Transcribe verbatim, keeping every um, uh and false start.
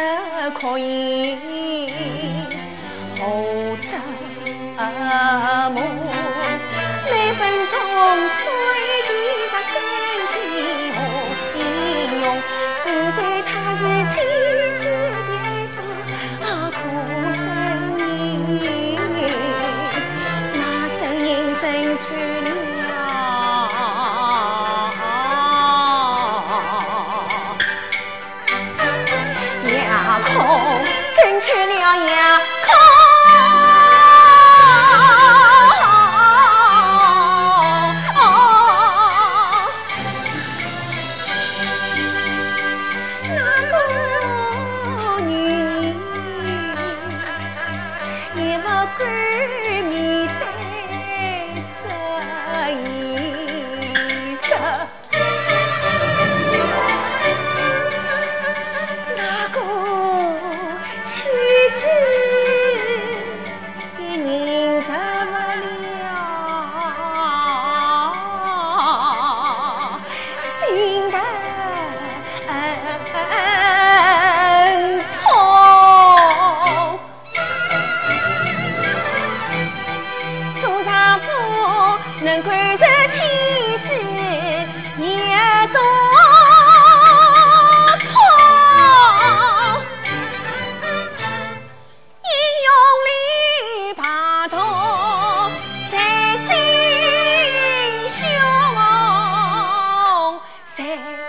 可以何则梦？每分钟随其杀身体何英勇？不在他是妻子的哀伤啊，苦声音，那声音真传了。真穿了呀，空那个女人也不敢面对这一生。能管着妻子也多痛，一用力爬头在心胸，在